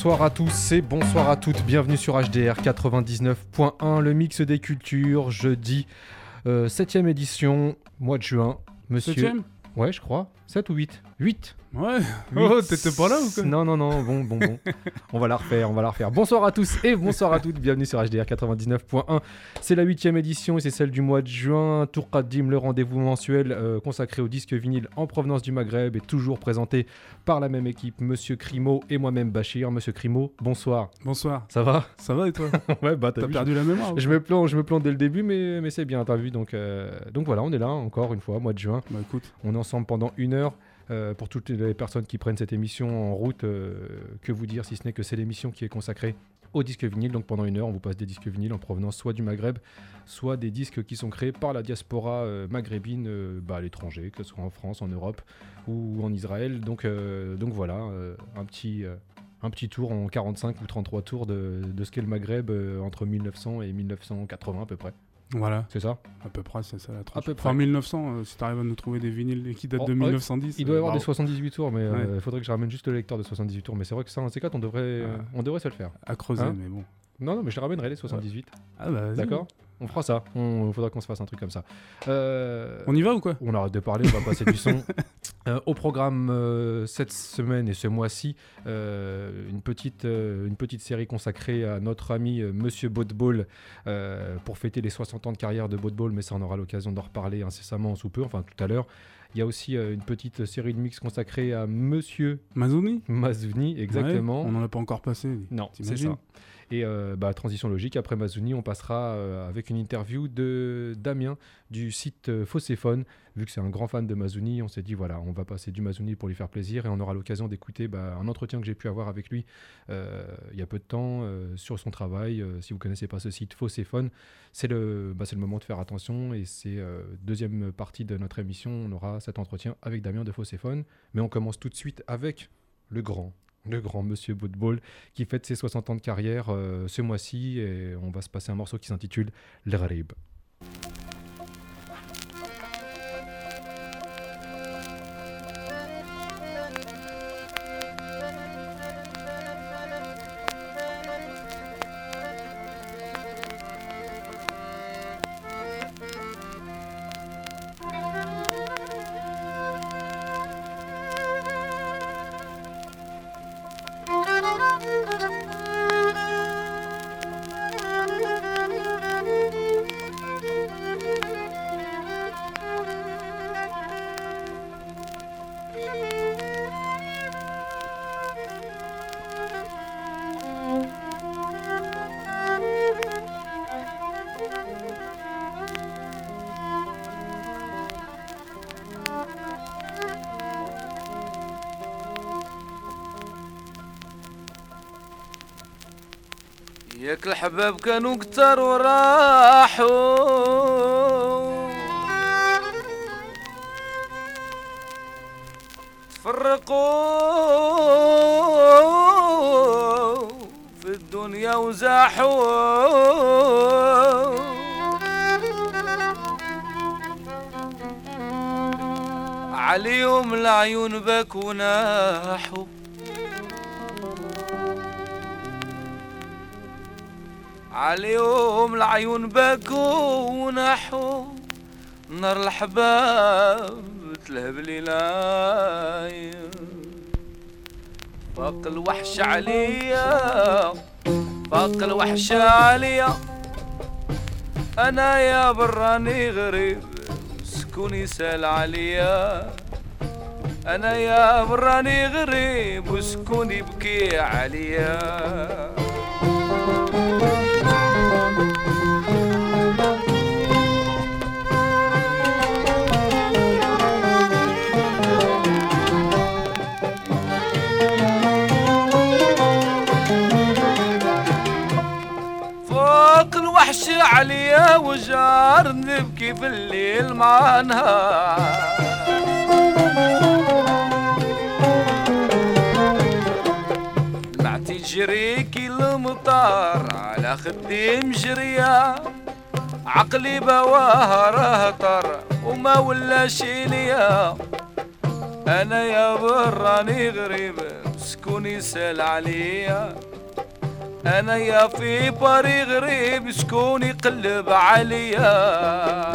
Bonsoir à tous et bonsoir à toutes, bienvenue sur HDR 99.1, le mix des cultures, jeudi 7ème édition, mois de juin. Monsieur... 7ème ? Ouais, je crois, 7 ou 8 ? 8 Ouais. Oh, t'étais pas là ou quoi ? Non, bon. On va la refaire. Bonsoir à tous et bonsoir à toutes, bienvenue sur HDR 99.1. C'est la 8ème édition et c'est celle du mois de juin. Tour Qadim, le rendez-vous mensuel consacré au disque vinyle en provenance du Maghreb et toujours présenté par la même équipe, Monsieur Crimo et moi-même Bachir. Monsieur Crimo, bonsoir. Bonsoir. Ça va ? Ça va et toi ? Ouais, bah t'as perdu la mémoire. Je me plante dès le début, mais c'est bien, t'as vu. Donc voilà, on est là encore une fois, mois de juin. Bah écoute. On est ensemble pendant 1 heure. Pour toutes les personnes qui prennent cette émission en route, que vous dire si ce n'est que c'est l'émission qui est consacrée aux disques vinyles. Donc pendant 1 heure, on vous passe des disques vinyles en provenance soit du Maghreb, soit des disques qui sont créés par la diaspora maghrébine à l'étranger, que ce soit en France, en Europe ou en Israël. Donc voilà, un petit tour en 45 ou 33 tours de ce qu'est le Maghreb entre 1900 et 1980 à peu près. Voilà. C'est ça ? À peu près, c'est ça la tranche. À peu près. Enfin 1900, si t'arrives à nous trouver des vinyles qui datent de 1910. Il doit y avoir des 78 tours, mais il ouais. faudrait que je ramène juste le lecteur de 78 tours. Mais c'est vrai que ça, en C4, on devrait se le faire. À creuser, hein, mais bon. Non, mais je les ramènerai les 78. Ah bah vas-y. D'accord ? On fera ça. Il faudra qu'on se fasse un truc comme ça. On y va ou quoi ? On arrête de parler, on va passer du son. Au programme cette semaine et ce mois-ci, une petite série consacrée à notre ami Monsieur Boatball pour fêter les 60 ans de carrière de Boatball, mais ça on aura l'occasion d'en reparler incessamment sous peu, enfin tout à l'heure. Il y a aussi une petite série de mix consacrée à Monsieur Mazouni, exactement. Ouais, on n'en a pas encore passé. Non, t'imagines ? c'est ça. Et transition logique, après Mazouni, on passera avec une interview de Damien du site Fosséphone. Vu que c'est un grand fan de Mazouni, on s'est dit voilà, on va passer du Mazouni pour lui faire plaisir et on aura l'occasion d'écouter un entretien que j'ai pu avoir avec lui il y a peu de temps sur son travail. Si vous ne connaissez pas ce site Fosséphone, c'est le moment de faire attention et c'est deuxième partie de notre émission. On aura cet entretien avec Damien de Fosséphone. Mais on commence tout de suite avec le grand Monsieur Boatball qui fête ses 60 ans de carrière ce mois-ci et on va se passer un morceau qui s'intitule L'Gharib. ياك الحباب كانوا كتار وراحوا تفرقوا في الدنيا وزاحوا عليهم العيون بكوا ناحوا عليهم العيون بكوا ونحوا نار الحباب تلهب ليلاي فاق الوحش عليا فاق الوحش عليا انا يا براني غريب سكوني سال عليا انا يا براني غريب وسكوني بكي عليا وحش عليا وجار نبكي في الليل مع نهار معتي جريكي المطار على خدي مجريا عقلي بواه رهطر وما ولا شي ليا انا يا براني غريب وشكون يسأل عليا انا يا في باري غريب شكون يقلب عليا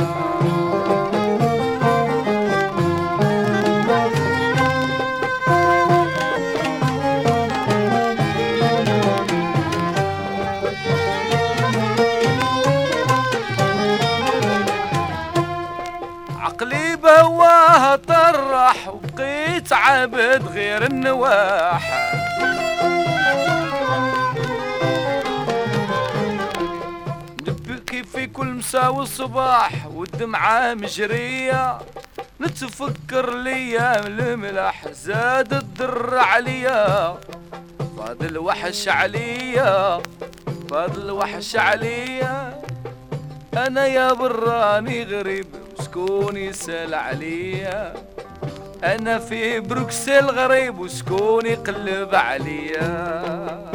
عقلي بواه طرح وبقيت عبد غير النواح نبكي في كل مساء والصباح والدمعة مجرية نتفكر ليام الملح زاد الضر عليا فاض الوحش عليا فاض الوحش عليا انا يا براني غريب شكون يسأل عليا انا في بروكسل غريب وشكون يقلب عليا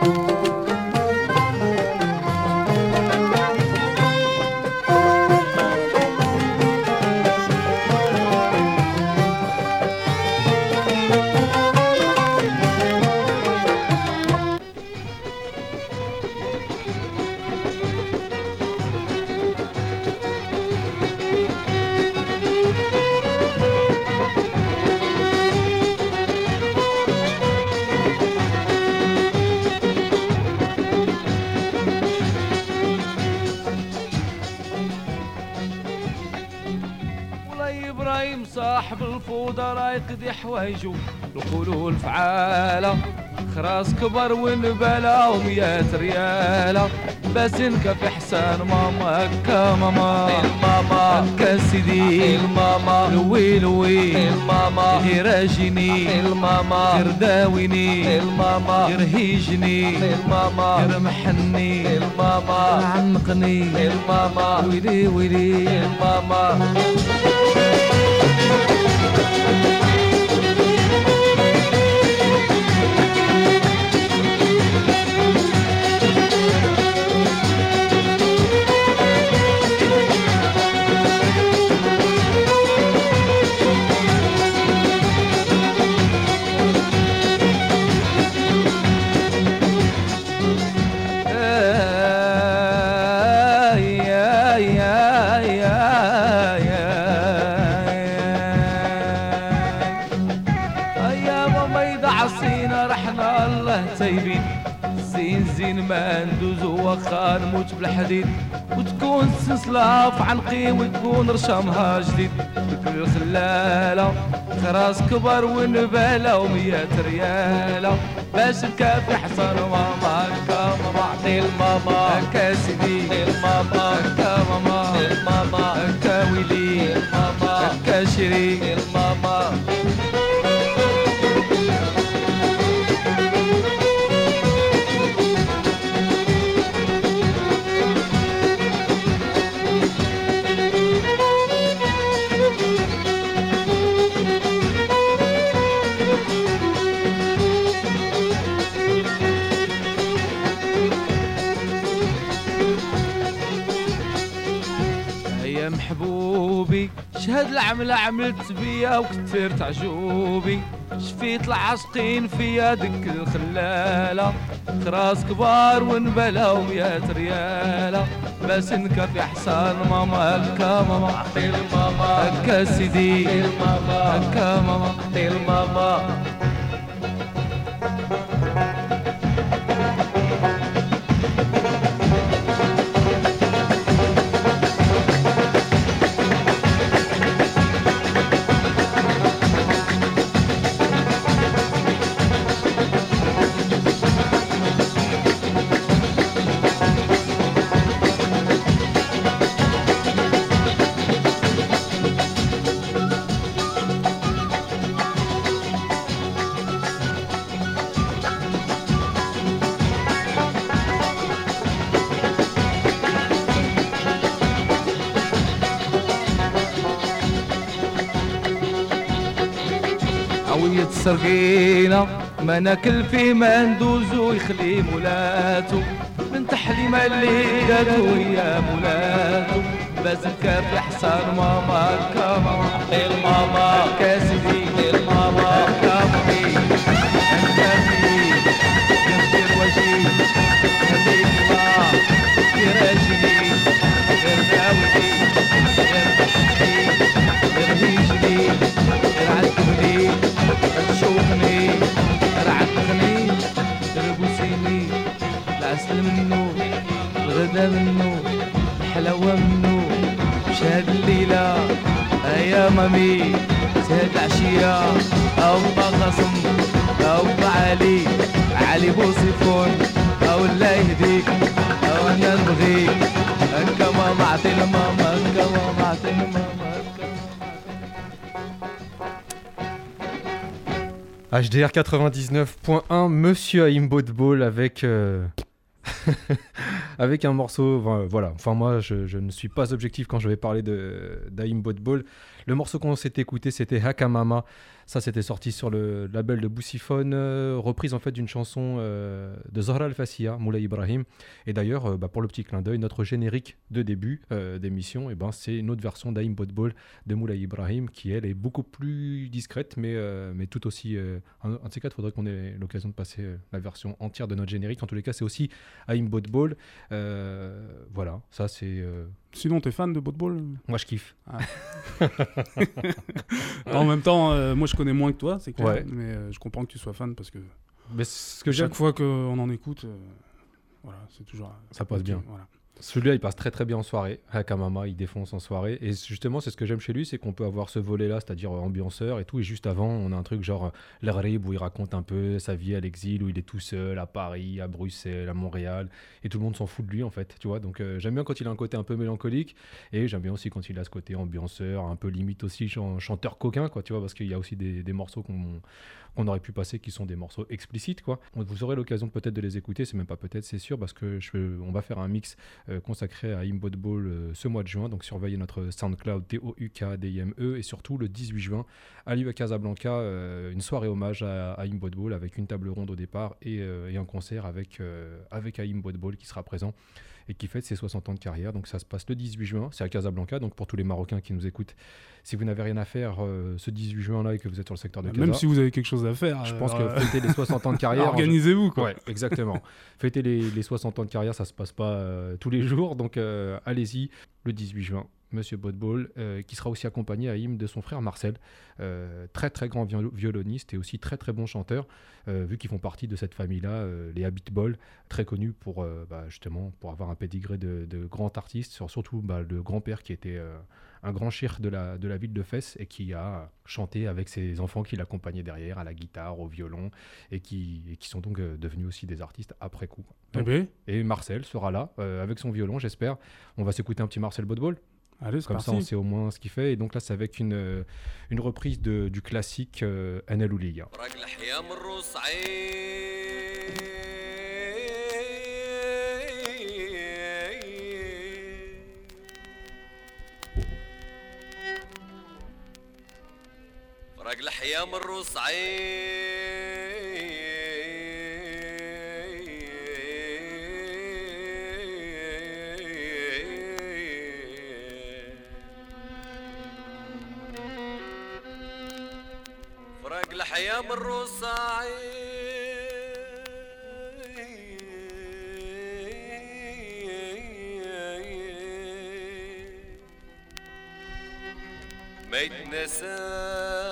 ابراهيم صاحب الفوضى راه يقضي حوايجو نقولوا الفعاله خراس كبر ونباله وميات رياله باسنكا في حسان ماما هكا ماما الماما هكا سيدي الماما لوي لوي الماما غير اجيني الماما غير داويني الماما غير هيجني الماما غير محني الماما عنقني الماما ويلي ويلي الماما طيبين زين زين ما ندوزو واخا نموت بالحديد وتكون السلسلة في عنقي وتكون رشامها جديد بكل الخلالة خراس كبر ونبالة وميات ريالة باش نكافي حصان ماما هكا ماما عطي الماما هكا سيدي الماما هكا ماما الماما هكا ويلي الماما هكا شري الماما محبوبي شهد العملة عملت بيا وكثرت عجوبي شفيت العاشقين فيا دك الخلالة خراس كبار ونبلا وميات ريالة بس نكفي حسان ماما هكا ماما عطي الماما هكا سيدي الماما هكا ماما عطي الماما عوية سرقينا ما ناكل فيه ما ندوزو يخلي مولاتو من تحليمة اللي داتو يا مولاتو بس نكافي حصان ماما هكا ماما الماما هكا سيدي الماما هكا مامي حلاوة منو شهاد الليلة يا مامي شهاد العشية أو با قاسم أو با علي بوصيفون أو الله يهديك أو أنا نبغيك هكا ماما عطينا ماما هكا ماما عطينا ماما HDR 99.1, Monsieur Haïm Botball avec avec un morceau, voilà. Enfin moi, je ne suis pas objectif quand je vais parler d'Haïm Botball. Le morceau qu'on s'est écouté, c'était Hakamama. Ça, c'était sorti sur le label de Boussiphone, reprise en fait d'une chanson de Zahra Al-Fassia, Moulay Ibrahim. Et d'ailleurs, pour le petit clin d'œil, notre générique de début d'émission, c'est une autre version d'Haïm Botball de Moulay Ibrahim, qui elle est beaucoup plus discrète, mais tout aussi. Un de ces quatre, il faudrait qu'on ait l'occasion de passer la version entière de notre générique. En tous les cas, c'est aussi Haïm Botball. Voilà, ça c'est. Sinon, t'es fan de Botball ? Moi, je kiffe. Ah. En même temps, moi, je connais moins que toi, c'est clair. Ouais. Mais je comprends que tu sois fan parce que chaque fois qu'on en écoute, voilà, c'est toujours. Ça passe bien. Voilà. Celui-là, il passe très très bien en soirée. Hakamama, il défonce en soirée. Et justement, c'est ce que j'aime chez lui, c'est qu'on peut avoir ce volet-là, c'est-à-dire ambianceur et tout. Et juste avant, on a un truc genre l'Arib où il raconte un peu sa vie à l'exil, où il est tout seul à Paris, à Bruxelles, à Montréal. Et tout le monde s'en fout de lui, en fait. Tu vois. Donc, j'aime bien quand il a un côté un peu mélancolique. Et j'aime bien aussi quand il a ce côté ambianceur, un peu limite aussi chanteur coquin, quoi. Tu vois, parce qu'il y a aussi des morceaux qu'on aurait pu passer qui sont des morceaux explicites, quoi. Vous aurez l'occasion peut-être de les écouter, c'est même pas peut-être, c'est sûr, parce que on va faire un mix consacré à Haïm Botball ce mois de juin, donc surveillez notre SoundCloud TOUKDIME et surtout le 18 juin à l'IVA Casablanca, une soirée hommage à Haïm Botball avec une table ronde au départ et un concert avec Haïm Botball qui sera présent et qui fête ses 60 ans de carrière. Donc ça se passe le 18 juin, c'est à Casablanca, donc pour tous les Marocains qui nous écoutent, si vous n'avez rien à faire ce 18 juin-là et que vous êtes sur le secteur de Casa, même si vous avez quelque chose à faire, je pense que fêter les 60 ans de carrière... Organisez-vous, quoi. Ouais, exactement. Fêter les 60 ans de carrière, ça se passe pas tous les jours, donc allez-y, le 18 juin. Monsieur Botball, qui sera aussi accompagné à Haïm de son frère Marcel, très très grand violoniste et aussi très très bon chanteur, vu qu'ils font partie de cette famille-là, les Habitbol, très connus pour justement pour avoir un pédigré de grands artistes, surtout le grand-père qui était un grand cheikh de la ville de Fès et qui a chanté avec ses enfants qui l'accompagnaient derrière à la guitare, au violon et qui sont donc devenus aussi des artistes après coup. Donc, et Marcel sera là avec son violon, j'espère. On va s'écouter un petit Marcel Botball. Allez, c'est comme parti. ça on sait au moins ce qu'il fait, et donc là c'est avec une reprise du classique Ana Louliya. فرق الحياة من روس الحياة من روسعي ما يتنسى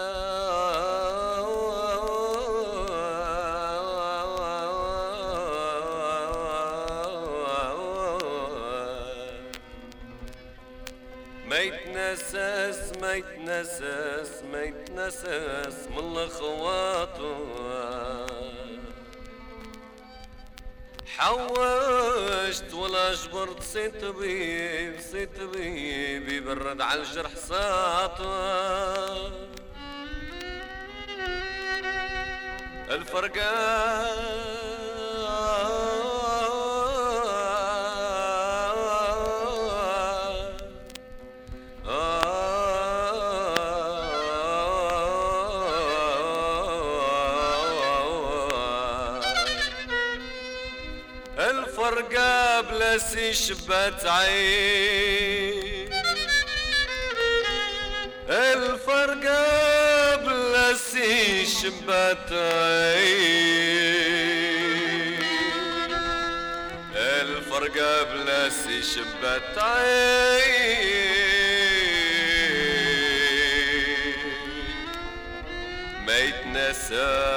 ما يتنسس من الخواطر حوشت ولا جبرت سي طبيب يبرد على الجرح ساطر الفرقان بلاسي شبات عين الفرقة بلاسي شبات عين الفرقة بلاسي شبات عين ما يتنسى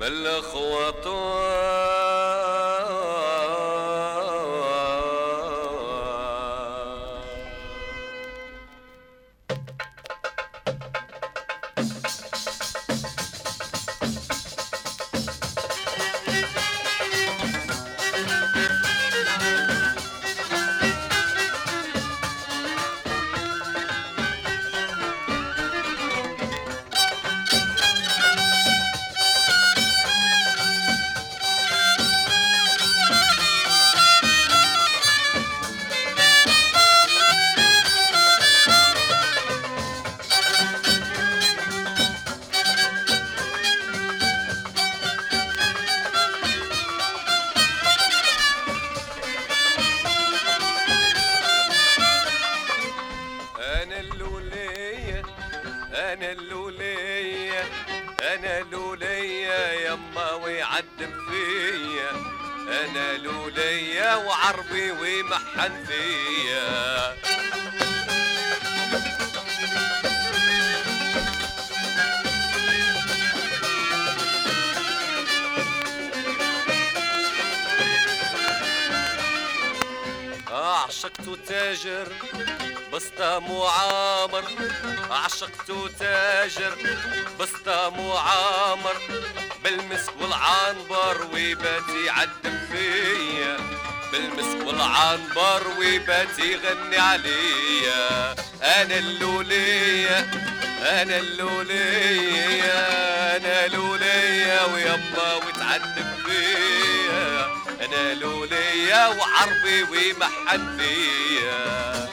عشقت تاجر بسطام وعامر، عشقت تاجر بسطام وعامر، بالمسك والعنبر ويبات يعذب فيا، بالمسك والعنبر ويبات يغني عليا. انا اللولية انا اللولية انا لولية ويما وتعذب فيا، انا لولية وعربي ويمحن فيا.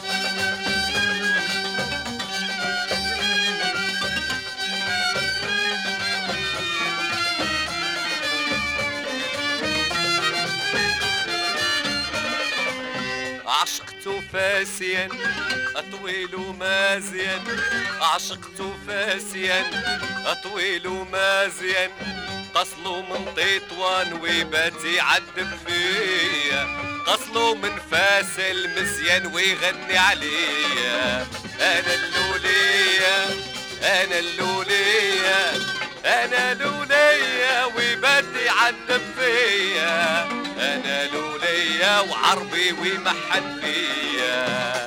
عشقت فاسيا أطويل مازيا، عشقت فاسيا أطويل مازيا، قصلو من تطوان ويبات يعذب فيا، قصلو من فاس المزيان ويغني عليا. أنا اللولية أنا اللولية أنا لولية ويبات يعذب فيا، أنا لولية وعربي ويمحن فيا.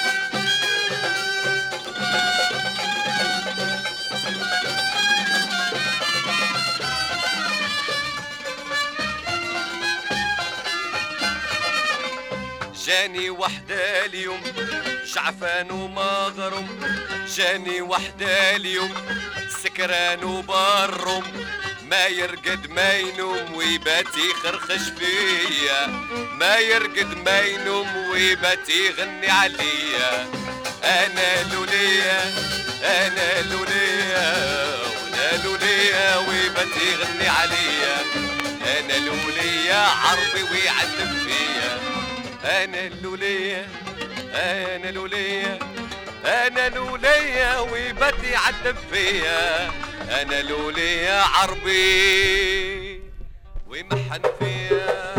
جاني وحدة اليوم شعفان ومغرم، جاني وحدة اليوم سكران وبرم، ما يرقد ما ينوم ويبات يخرخش فيا، ما يرقد ما ينوم ويبات يغني عليا. انا لولية انا لولية وانا لولية ويبات يغني عليا، انا لولية عربي ويعذب فيا. انا اللولية انا لولية انا لولية ويبات يعذب فيا، انا لولية عربي ويمحن فيا.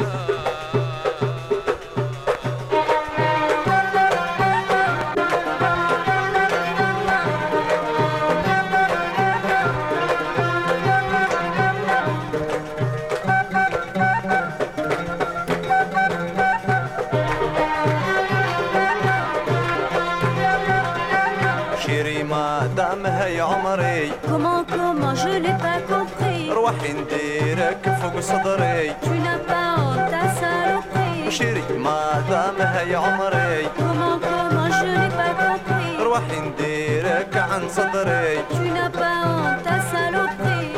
هاي عمري Comment je n'ai pas compris. روحي نديرك فوق صدري. Tu n'as pas honte ta saloperie. وشري ما دام هاي عمري. Comment je n'ai pas compris. روحي نديرك عن صدري. Tu n'as pas honte ta saloperie.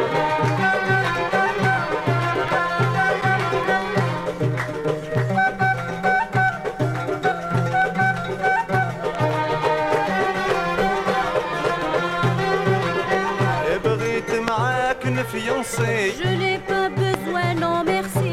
Je n'ai pas besoin, non merci.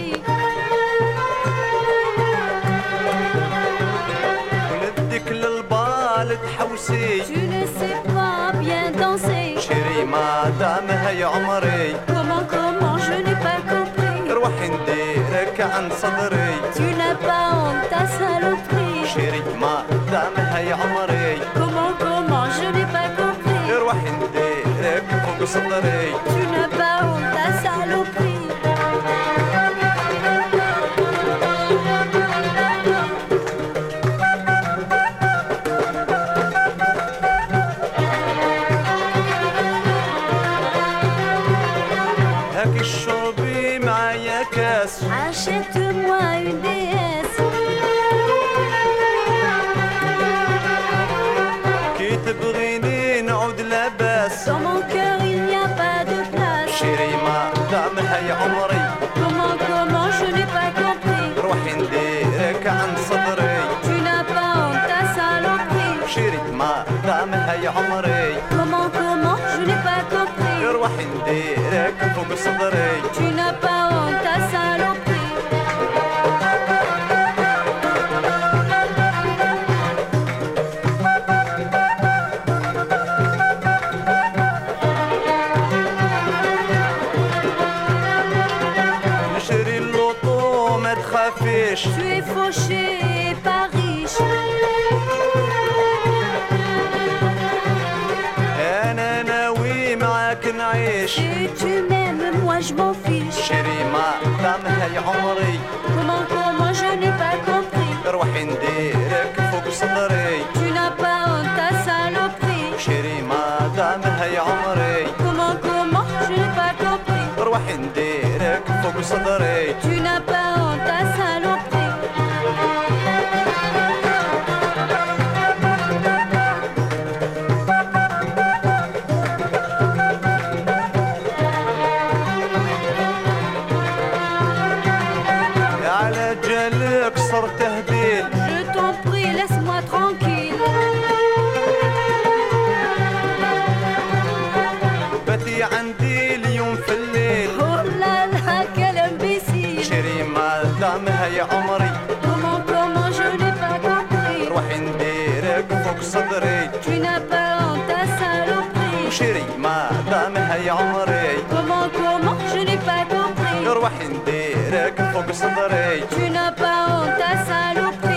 وندك للبال تحوسي. Tu ne sais pas bien danser. شري ما دام هاي عمري. Comment je n'ai pas compris. روحي نديرك عن صدري. Tu n'as pas honte ta saloperie. شري ما دام هاي عمري. Comment je n'ai pas compris. روحي نديرك فوق صدري. Tu n'as pas honte ta شربي معايا كاس Achète-moi une déesse. كي تبغيني نعود لاباس Dans mon cœur il n'y a pas de place. شيري ما دامها يا عمري Comment, je n'ai pas compris. روحي نديرك عند صدري Tu n'as pas honte ta saloperie. شيري ما دامها يا عمري Comment, je n'ai pas compris. روحي نديرك فوق صدري Tu n'as pas honte ta saloperie. نشري اللوطو ما تخافيش Tu es fauché et pas riche. انا ناوي معاك نعيش Si tu m'aimes, moi je m'en fiche. شيري ما دامها يا عمري Comment, je n'ai pas compris. روحي نديرك فوق صدري Tu n'as pas honte ta saloperie. شيري ما دامها يا عمري Comment, je n'ai pas compris. روحي نديرك فوق صدري Tu n'as pas honte ta saloperie. على جالك صرت هبيل Je t'en prie, laisse-moi tranquille. باتي عندي اليوم في الليل Oh là là, quel imbécile. شيري ما دامها يا عمري Comment, je n'ai pas compris. روحي نديرك فوق صدري Tu n'as pas honte ta saloperie. شيري ما دامها يا عمري Comment, je n'ai pas compris. روحي نديرك فوق صدري Tu n'as pas honte ta saloperie.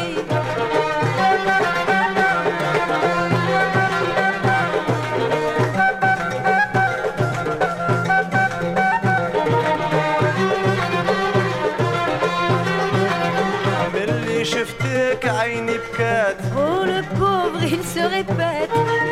ملي شفتك عيني بكات Oh le pauvre, il se répète.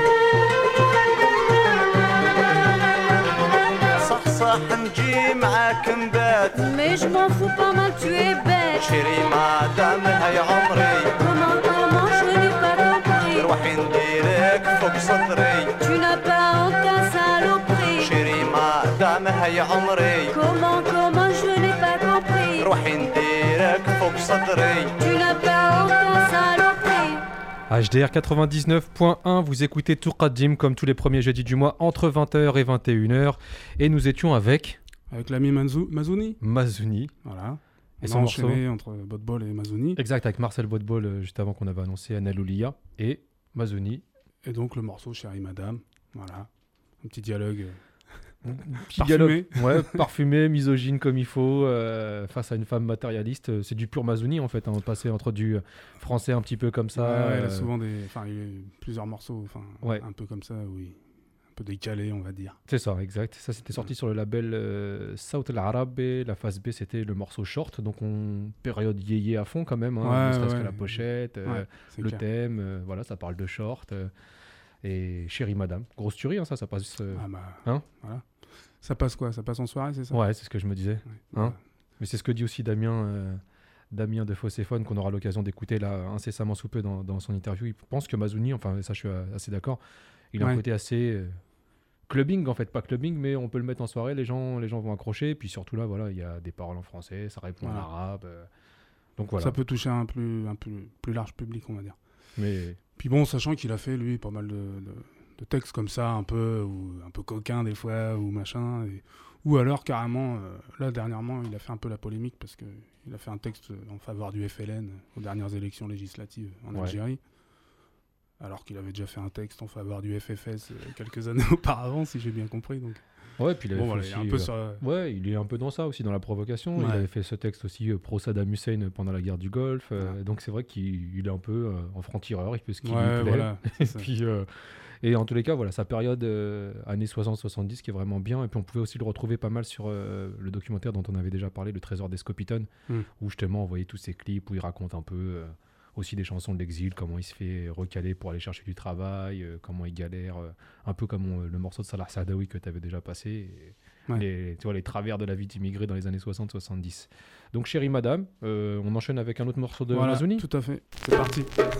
صح نجي معاك نبات Mais je m'en fous pas mal, tu es bête. شيري ما دامها يا عمري Comment, je n'ai pas compris. روحي نديرك فوق صدري Tu n'as pas honte ta saloperie. شيري ما دامها يا عمري Comment, je n'ai pas compris. روحي نديرك فوق صدري Tu n'as pas honte ta saloperie. HDR 99.1, vous écoutez Tourqaddim comme tous les premiers jeudis du mois entre 20h et 21h. Et nous étions avec l'ami Mazouni. Mazouni. Voilà. Et On son a morceau. enchaîné entre Botbol et Mazouni. Exact, avec Marcel Botbol, juste avant qu'on avait annoncé Anna Loulia et Mazouni. Et donc le morceau Chérie Madame. Voilà. Un petit dialogue. Petit Parfumé. dialogue, ouais, parfumé, misogyne comme il faut, face à une femme matérialiste. C'est du pur Mazouni en fait, hein, passer entre du français un petit peu comme ça. Ouais, il a souvent il y a plusieurs morceaux, ouais. Un peu comme ça, oui. Un peu décalé, on va dire. C'est ça, exact. Ça, c'était sorti sur le label South Al-Arab et la phase B, c'était le morceau Short. Donc, période yéyé à fond quand même. Hein, ne serait-ce que la pochette, le clair. Thème, voilà, ça parle de Short. Et Chérie Madame. Grosse tuerie, hein, ça passe. Hein voilà. Ça passe quoi? Ça passe en soirée, c'est ça? Ouais, c'est ce que je me disais. Ouais. Hein mais c'est ce que dit aussi Damien de Fosséphone, qu'on aura l'occasion d'écouter là incessamment sous peu dans son interview. Il pense que Mazouni, enfin, ça je suis assez d'accord, il a un côté assez clubbing en fait, pas clubbing, mais on peut le mettre en soirée, les gens vont accrocher. Puis surtout là, voilà, il y a des paroles en français, ça répond en arabe. Donc voilà. Ça peut toucher un plus large public, on va dire. Mais puis bon, sachant qu'il a fait lui pas mal de textes comme ça, un peu coquins des fois, ou machin, ou alors carrément, là dernièrement, il a fait un peu la polémique parce qu'il a fait un texte en faveur du FLN aux dernières élections législatives en Algérie, alors qu'il avait déjà fait un texte en faveur du FFS quelques années auparavant, si j'ai bien compris. Donc. Ouais, puis il, voilà, aussi, il est un peu dans ça aussi, dans la provocation. Ouais. Il avait fait ce texte aussi pro Saddam Hussein pendant la guerre du Golfe. Donc c'est vrai qu'il est un peu en franc-tireur, il fait ce qu'il lui plaît. Voilà, puis, et en tous les cas, voilà, sa période années 60-70 qui est vraiment bien. Et puis on pouvait aussi le retrouver pas mal sur le documentaire dont on avait déjà parlé, Le Trésor des Scopiton, où justement on voyait tous ces clips où il raconte un peu aussi des chansons de l'exil, comment il se fait recaler pour aller chercher du travail, comment il galère, un peu comme le morceau de Salah Sadawi que tu avais déjà passé. Tu vois, les travers de la vie d'immigré dans les années 60-70. Donc, Chérie Madame, on enchaîne avec un autre morceau de Mazouni. Tout à fait. C'est parti.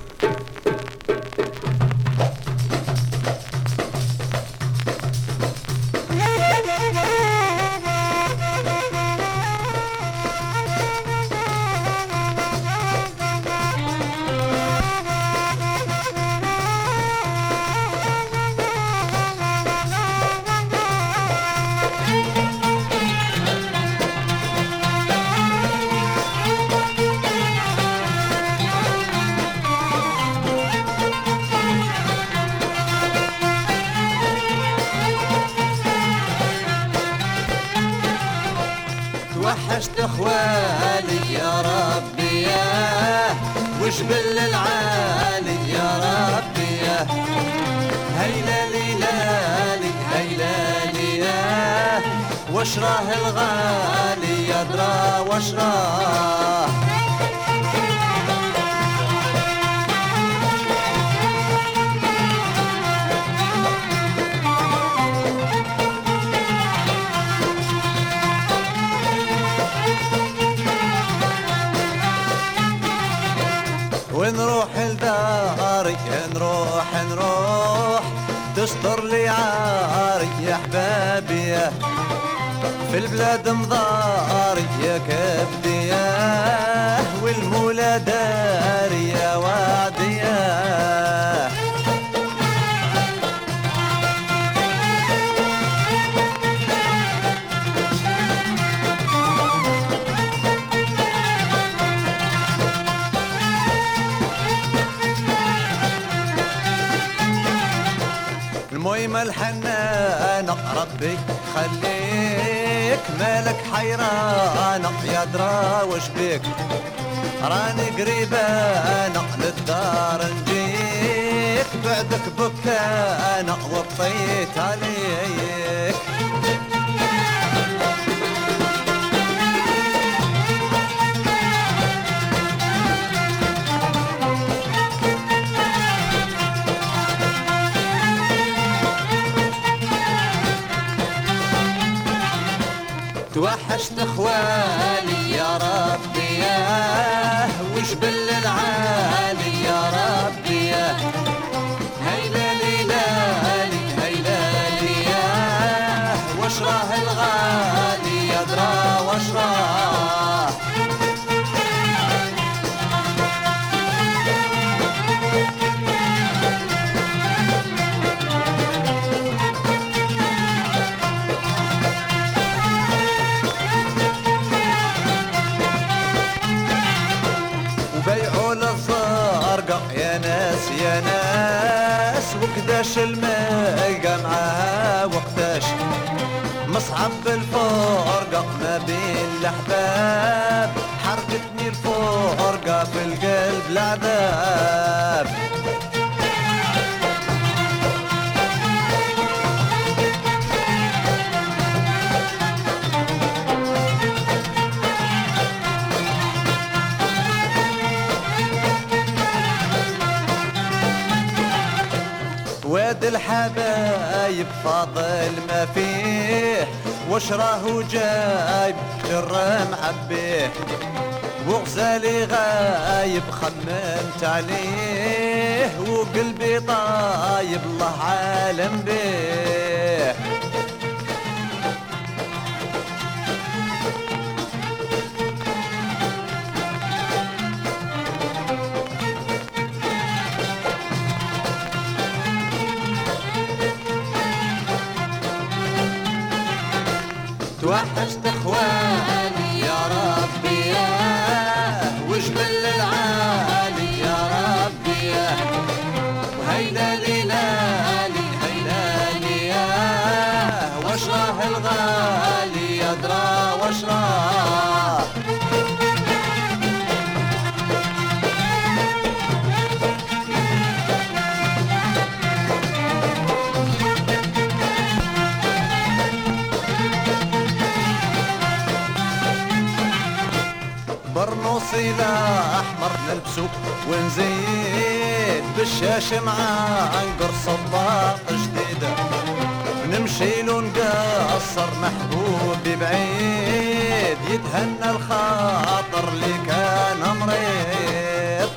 وحشت اخوالي يا ربي ياه وجبل العالي يا ربي ياه هيلا ليلالي هيلا لياه واشراه الغالي يدرى واشراه ونروح لداري نروح تستر لي عاري يا حبابي في البلاد مضاري يا كبدي والمولى داري يا وعدي المهم الحنانة ربي خليك مالك حيرانة يا درا وش بيك راني قريبانة للدار نجيك بعدك بكانة وطيت عليك توحشت اخوالي يا ربي ياه وجبل العالي يا ربي ياه هيلا ليلالي هيلا لياه واشراه الغالي يدرى واشراه يا ناس وقداش الملقى معاها وقداش مصعب الفرقة ما بين الأحباب حرقتني الفرقة في القلب العذاب واد الحبايب فاضل ما فيه وشراه جايب شر معبيه وغزالي غايب خممت عليه وقلبي طايب الله عالم بيه توحشت اخواني يا ربي ياه وجبل العالي يا ربي ياه وهيدا ليلالي هيدا لياه واشراه الغالي يدرى واشراه برنوصي احمر نلبسو ونزيد بالشاش مع عنقر صباط جديدة نمشي له نقصر محبوبي بعيد يتهنى الخاطر اللي كان مريض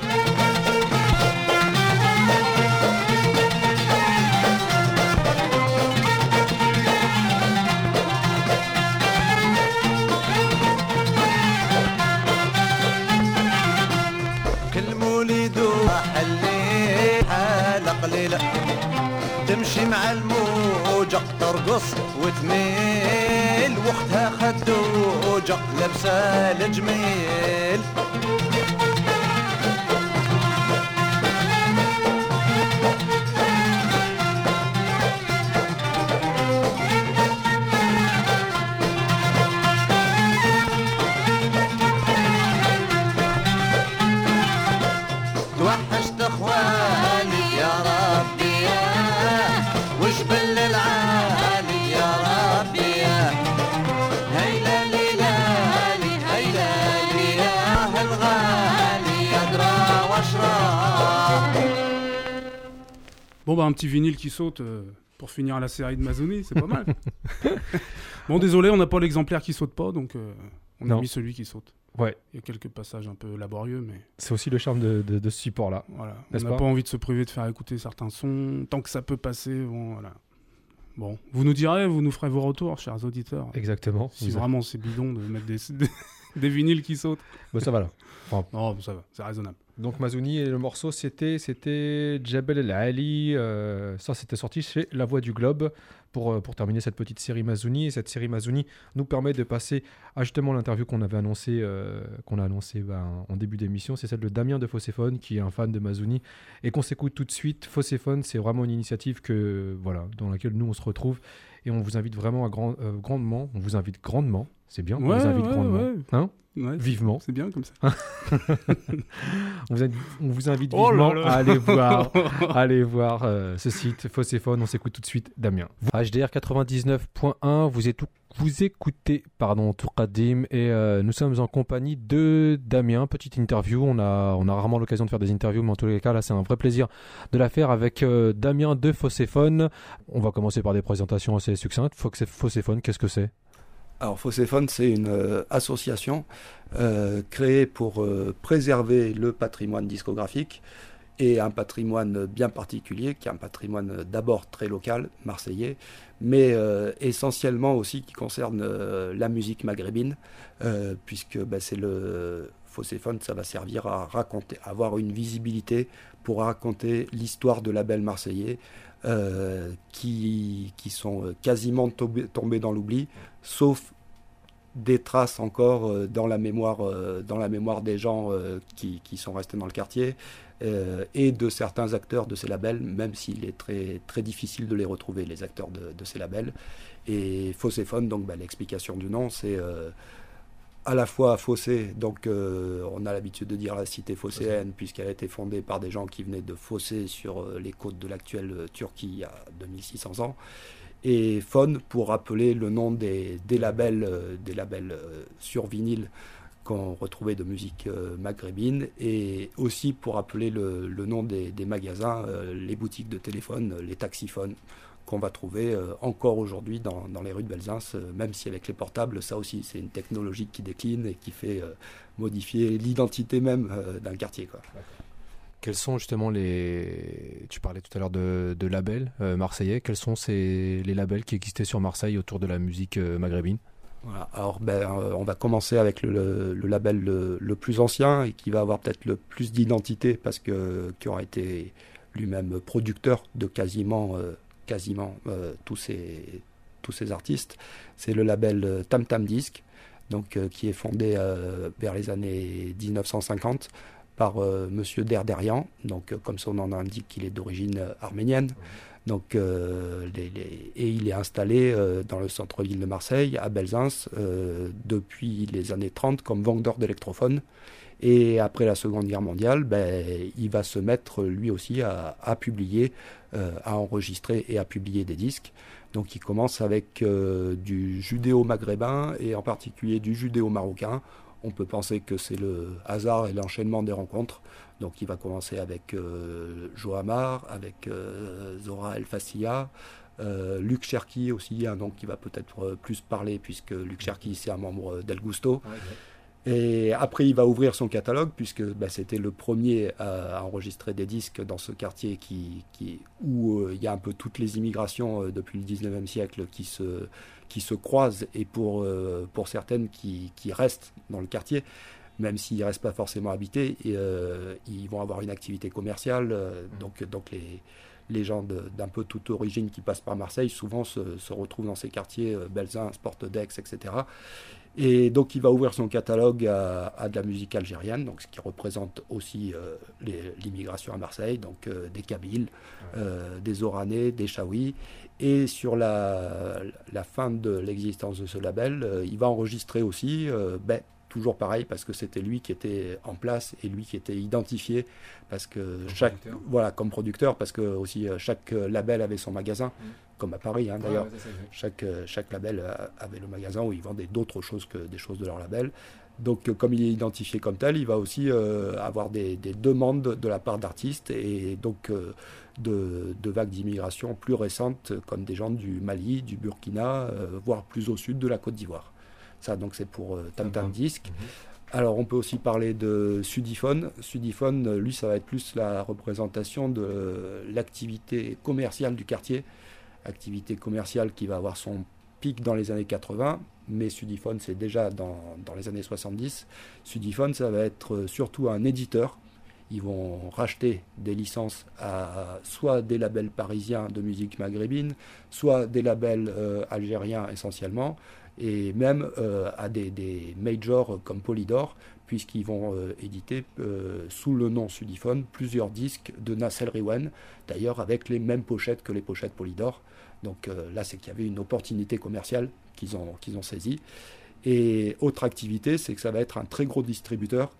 كل مولد حلي حالة قليلة تمشي مع الموجة ترقص وتميل وقتها خدوجة لابسة الجميل توحشت اخواني يا ربي يا وجبل العالي يا ربي يا هيلا ليلالي هيلا لي يا الغالي يدرى واشرب. Bon, bah, un petit vinyle qui saute pour finir la série de Mazzoni, c'est pas mal. Bon, désolé, on n'a pas l'exemplaire qui saute pas, donc on a Non. mis celui qui saute. Ouais, Il y a quelques passages un peu laborieux, mais c'est aussi le charme de ce support-là. voilà. On N'est-ce n'a pas pas envie de se priver de faire écouter certains sons. Tant que ça peut passer, bon, voilà. Bon, vous nous direz, vous nous ferez vos retours, chers auditeurs. Exactement. Si vraiment c'est bidon de mettre des vinyles qui sautent. Bon, ça va là. Non, ça va, c'est raisonnable. Donc Mazouni et le morceau c'était Jebel El Ali. Ça c'était sorti chez La Voix du Globe pour terminer cette petite série Mazouni. Et cette série Mazouni nous permet de passer à justement l'interview qu'on avait annoncé en début d'émission. C'est celle de Damien de Fosséphone qui est un fan de Mazouni et qu'on s'écoute tout de suite. Fosséphone, c'est vraiment une initiative dans laquelle nous on se retrouve et on vous invite vraiment grandement. On vous invite grandement. C'est bien. On vous invite grandement. ouais. Hein Ouais, Vivement. c'est bien comme ça. On vous invite Oh vivement là là. à aller voir ce site Fosséphone. On s'écoute tout de suite Damien. HDR 99.1, vous écoutez Tourkadim et nous sommes en compagnie de Damien. Petite interview, on a rarement l'occasion de faire des interviews, mais en tous les cas là c'est un vrai plaisir de la faire avec Damien de Fosséphone. On va commencer par des présentations assez succinctes. Fosséphone, qu'est-ce que c'est ? Alors Fosséphone, c'est une association créée pour préserver le patrimoine discographique et un patrimoine bien particulier, qui est un patrimoine d'abord très local, marseillais, mais essentiellement aussi qui concerne la musique maghrébine, puisque c'est le Fosséphone, ça va servir à raconter, avoir une visibilité pour raconter l'histoire de labels marseillais qui sont quasiment tombés dans l'oubli, sauf des traces encore dans la mémoire des gens qui sont restés dans le quartier et de certains acteurs de ces labels, même s'il est très, très difficile de les retrouver, les acteurs de ces labels. Et Fosséphone, donc l'explication du nom, c'est à la fois Fossé, donc on a l'habitude de dire la cité phocéenne, puisqu'elle a été fondée par des gens qui venaient de Fossé sur les côtes de l'actuelle Turquie il y a 2600 ans, et Phone pour rappeler le nom des labels sur vinyle qu'on retrouvait de musique maghrébine, et aussi pour rappeler le nom des magasins, les boutiques de téléphone, les taxiphones, qu'on va trouver encore aujourd'hui dans les rues de Belzins, même si avec les portables, ça aussi, c'est une technologie qui décline et qui fait modifier l'identité même d'un quartier, quoi. Quels sont justement tu parlais tout à l'heure de labels marseillais, quels sont les labels qui existaient sur Marseille autour de la musique maghrébine ? Voilà. Alors on va commencer avec le label le plus ancien et qui va avoir peut-être le plus d'identité parce qui aura été lui-même producteur de quasiment tous ces artistes. C'est le label Tam Tam Disc, donc qui est fondé vers les années 1950 par Monsieur Derderian, donc comme son nom l'indique, il est d'origine arménienne. Donc, et il est installé dans le centre-ville de Marseille, à Belzins, depuis les années 30 comme vendeur d'électrophones. Et après la Seconde Guerre mondiale, il va se mettre lui aussi à publier, à enregistrer et à publier des disques. Donc il commence avec du judéo-maghrébin et en particulier du judéo-marocain. On peut penser que c'est le hasard et l'enchaînement des rencontres. Donc il va commencer avec Johamar, avec Zora El Fassia, Luc Cherki aussi, un nom qui va peut-être plus parler, puisque Luc Cherki, c'est un membre d'El Gusto. Et après, il va ouvrir son catalogue, puisque c'était le premier à enregistrer des disques dans ce quartier où il y a un peu toutes les immigrations depuis le 19e siècle qui se croisent, et pour certaines qui restent dans le quartier, même s'ils ne restent pas forcément habités, ils vont avoir une activité commerciale. Donc les gens d'un peu toute origine qui passent par Marseille, souvent se retrouvent dans ces quartiers, Belzins, Sport-Dex, etc. Et donc il va ouvrir son catalogue à de la musique algérienne, donc ce qui représente aussi l'immigration à Marseille, donc des Kabyles, des Oranais, des Chaouis. Et sur la fin de l'existence de ce label, il va enregistrer aussi, toujours pareil, parce que c'était lui qui était en place et lui qui était identifié, parce que comme producteur, parce que aussi chaque label avait son magasin, comme à Paris d'ailleurs. Chaque label avait le magasin où ils vendaient d'autres choses que des choses de leur label. Donc comme il est identifié comme tel, il va aussi avoir des demandes de la part d'artistes, et donc de vagues d'immigration plus récentes, comme des gens du Mali, du Burkina, voire plus au sud de la Côte d'Ivoire. Ça, donc, c'est pour Tam Tam Disc. Alors, on peut aussi parler de Sudiphone. Sudiphone, lui, ça va être plus la représentation de l'activité commerciale du quartier. Activité commerciale qui va avoir son pic dans les années 80, mais Sudiphone, c'est déjà dans les années 70. Sudiphone, ça va être surtout un éditeur. Ils vont racheter des licences à soit des labels parisiens de musique maghrébine, soit des labels algériens essentiellement, et même à des majors comme Polydor, puisqu'ils vont éditer sous le nom Sudiphone plusieurs disques de Nassel Riwen, d'ailleurs avec les mêmes pochettes que les pochettes Polydor. Donc là, c'est qu'il y avait une opportunité commerciale qu'ils ont saisie. Et autre activité, c'est que ça va être un très gros distributeur,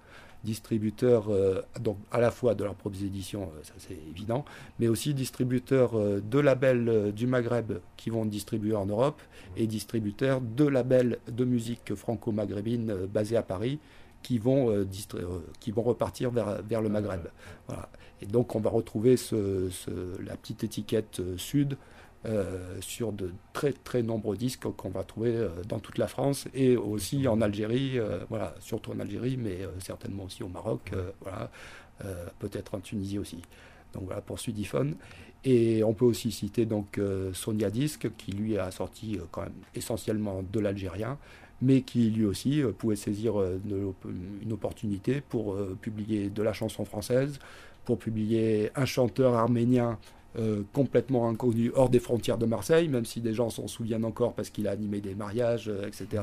donc à la fois de leurs propres éditions, ça c'est évident, mais aussi distributeur de labels du Maghreb qui vont distribuer en Europe, et distributeur de labels de musique franco-maghrébine basés à Paris qui vont repartir vers le Maghreb. Voilà. Et donc on va retrouver la petite étiquette Sud sur de très très nombreux disques qu'on va trouver dans toute la France, et aussi en Algérie, surtout en Algérie, mais certainement aussi au Maroc, peut-être en Tunisie aussi. Donc voilà pour Sudiphone. Et on peut aussi citer donc Sonia Disc, qui lui a sorti quand même essentiellement de l'algérien, mais qui lui aussi pouvait saisir une opportunité pour publier de la chanson française, pour publier un chanteur arménien complètement inconnu hors des frontières de Marseille, même si des gens s'en souviennent encore parce qu'il a animé des mariages, etc.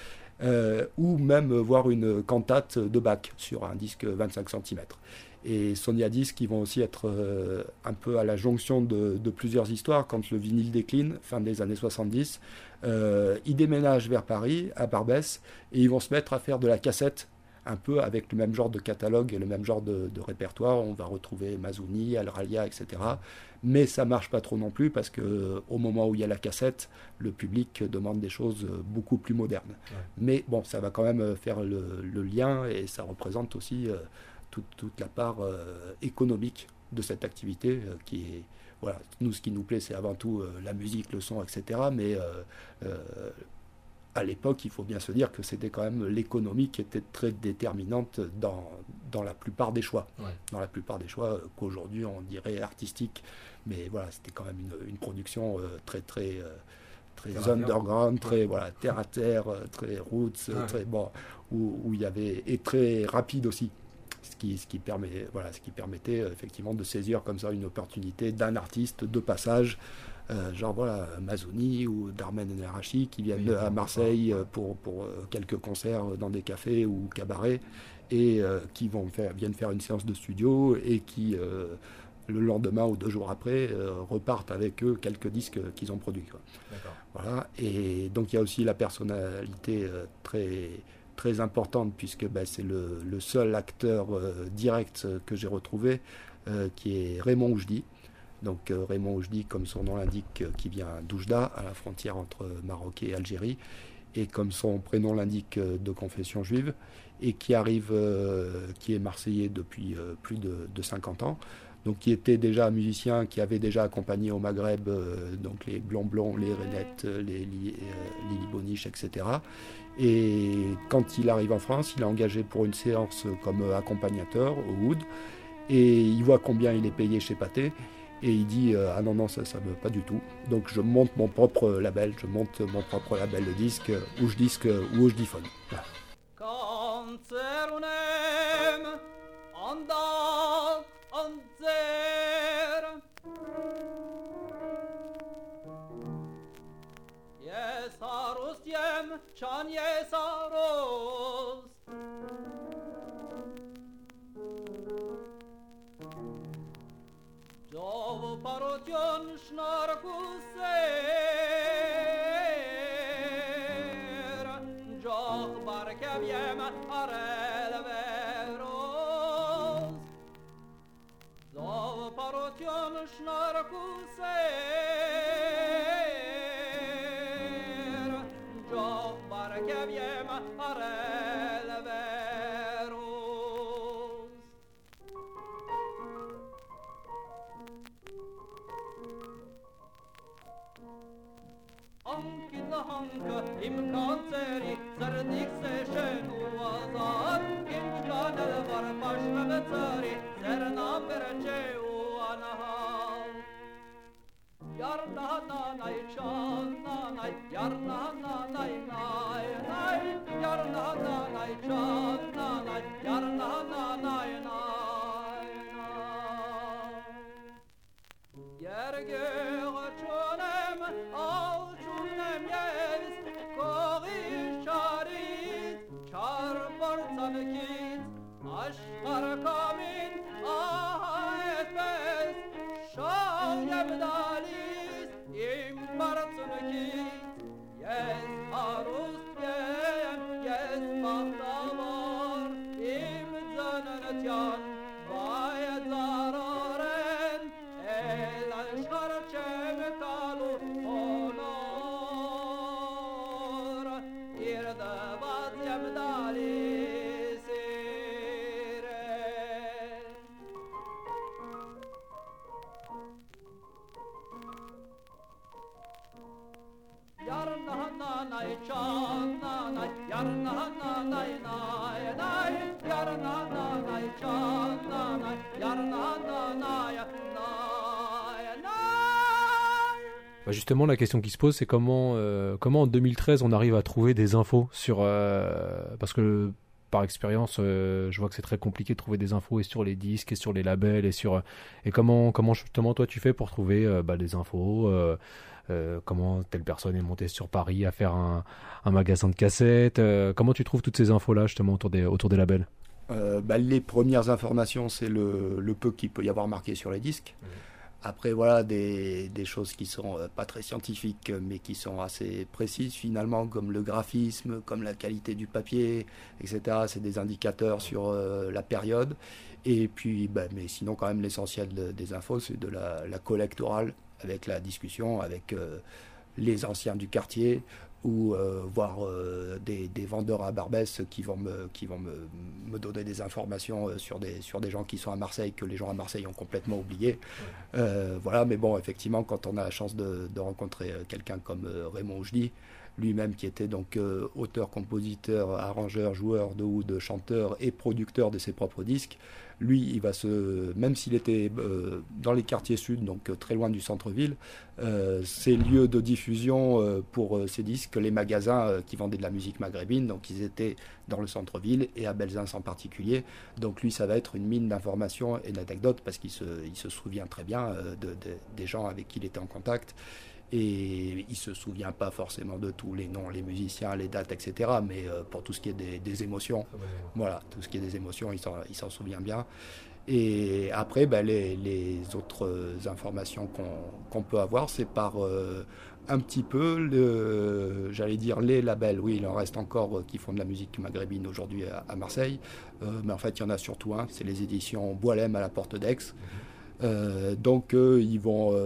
Ou même voir une cantate de Bach sur un disque 25 cm. Et Sonia Disc, qui vont aussi être un peu à la jonction de plusieurs histoires. Quand le vinyle décline, fin des années 70, ils déménagent vers Paris, à Barbès, et ils vont se mettre à faire de la cassette, un peu avec le même genre de catalogue et le même genre de répertoire. On va retrouver Mazouni, Al Ralia, etc. Mais ça marche pas trop non plus, parce que au moment où il y a la cassette, le public demande des choses beaucoup plus modernes. Mais bon, ça va quand même faire le lien, et ça représente aussi toute la part économique de cette activité qui est... Voilà, nous, ce qui nous plaît, c'est avant tout la musique, le son, etc. Mais à l'époque, il faut bien se dire que c'était quand même l'économie qui était très déterminante dans la plupart des choix. Dans la plupart des choix qu'aujourd'hui on dirait artistiques. Mais voilà, c'était quand même une production très underground, très terre à terre, très roots, très où il y avait, et très rapide aussi. Ce qui permettait effectivement de saisir comme ça une opportunité d'un artiste de passage, Mazouni ou Darmen El Arachi, qui viennent à Marseille pour quelques concerts dans des cafés ou cabarets, et qui viennent faire une séance de studio, et qui le lendemain ou 2 jours après repartent avec eux quelques disques qu'ils ont produits. Voilà. Et donc il y a aussi la personnalité très importante, puisque c'est le seul acteur direct que j'ai retrouvé, qui est Raymond Oujdi. Donc Raymond Oujdi, comme son nom l'indique, qui vient d'Oujda, à la frontière entre Maroc et Algérie, et comme son prénom l'indique, de confession juive, et qui est marseillais depuis plus de 50 ans. donc qui était déjà un musicien qui avait déjà accompagné au Maghreb donc les Blond, les Renettes, les Lili Boniche, etc. Et quand il arrive en France, il est engagé pour une séance comme accompagnateur au Oud, et il voit combien il est payé chez Pathé, et il dit ah non, ça ne veut pas du tout. Donc je monte mon propre label, de disque, où je diphone. Voilà. Konzernem andat anzer Yesarus yem chan yesarus Jov parotion schnarkuser Joch barkeviem arel veros Jov parotion schnarkuser Joch barkeviem arel veros Ankin la hanka im kanseri zardik se shenu azad im chanel var pashna tsari zerna berche u anahal yarna na nay channa nay yarna na nay nay nay yarna na nay channa nay yarna na nay nay yerge chonem al chonem yes kori sharit char bartan kit ashkar kamin ahet bes shayem dalis im bartan kit yes arus yes mahtavar im zananatyan bayad zararen el ashkar chem kalu honor irda bat yam dalis Yarna na nay channa nay yarna na nay nay nay yarna na nay channa nay yarna na nay nay nay Justement, la question qui se pose, c'est comment en 2013 on arrive à trouver des infos sur parce que par expérience, je vois que c'est très compliqué de trouver des infos et sur les disques et sur les labels et comment justement toi tu fais pour trouver des infos. Comment telle personne est montée sur Paris à faire un magasin de cassettes. Comment tu trouves toutes ces infos-là justement autour des labels? Les premières informations, c'est le peu qu'il peut y avoir marqué sur les disques. Après, voilà, des choses qui sont pas très scientifiques, mais qui sont assez précises finalement, comme le graphisme, comme la qualité du papier, etc. C'est des indicateurs sur la période. Et puis, mais sinon, quand même, l'essentiel des infos, c'est de la collecte orale, avec la discussion avec les anciens du quartier, ou voir des vendeurs à Barbès qui vont me donner des informations sur des gens qui sont à Marseille, que les gens à Marseille ont complètement oublié. Voilà, mais bon, effectivement, quand on a la chance de rencontrer quelqu'un comme Raymond Oujdi, lui-même qui était donc auteur, compositeur, arrangeur, joueur de oud, chanteur et producteur de ses propres disques, lui, il va même s'il était dans les quartiers sud, donc très loin du centre-ville, ces lieux de diffusion pour ces disques, les magasins qui vendaient de la musique maghrébine, donc ils étaient dans le centre-ville et à Belzins en particulier. Donc lui, ça va être une mine d'informations et d'anecdotes parce qu'il se souvient très bien des gens avec qui il était en contact. Et il ne se souvient pas forcément de tous les noms, les musiciens, les dates, etc. Mais pour tout ce qui est des émotions, voilà, tout ce qui est des émotions, il s'en souvient bien. Et après, les autres informations qu'on peut avoir, c'est par un petit peu, j'allais dire les labels. Oui, il en reste encore qui font de la musique maghrébine aujourd'hui à Marseille. Mais en fait, il y en a surtout un, c'est les éditions Boilem à la Porte d'Aix. Donc ils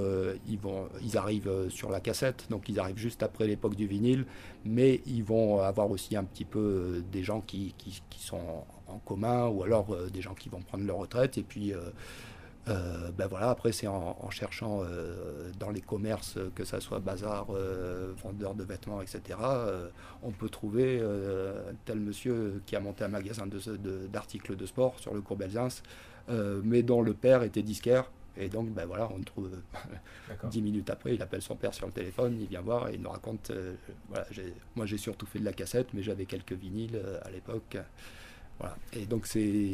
arrivent sur la cassette, donc ils arrivent juste après l'époque du vinyle, mais ils vont avoir aussi un petit peu des gens qui sont en commun, ou alors des gens qui vont prendre leur retraite, et puis Voilà, après c'est en cherchant dans les commerces, que ça soit bazar, vendeur de vêtements, etc. On peut trouver un tel monsieur qui a monté un magasin d'articles de sport sur le cours Belzins, mais dont le père était disquaire. Et donc, voilà, on le trouve 10 minutes après, il appelle son père sur le téléphone, il vient voir et il nous raconte, moi j'ai surtout fait de la cassette, mais j'avais quelques vinyles à l'époque. Voilà. Et donc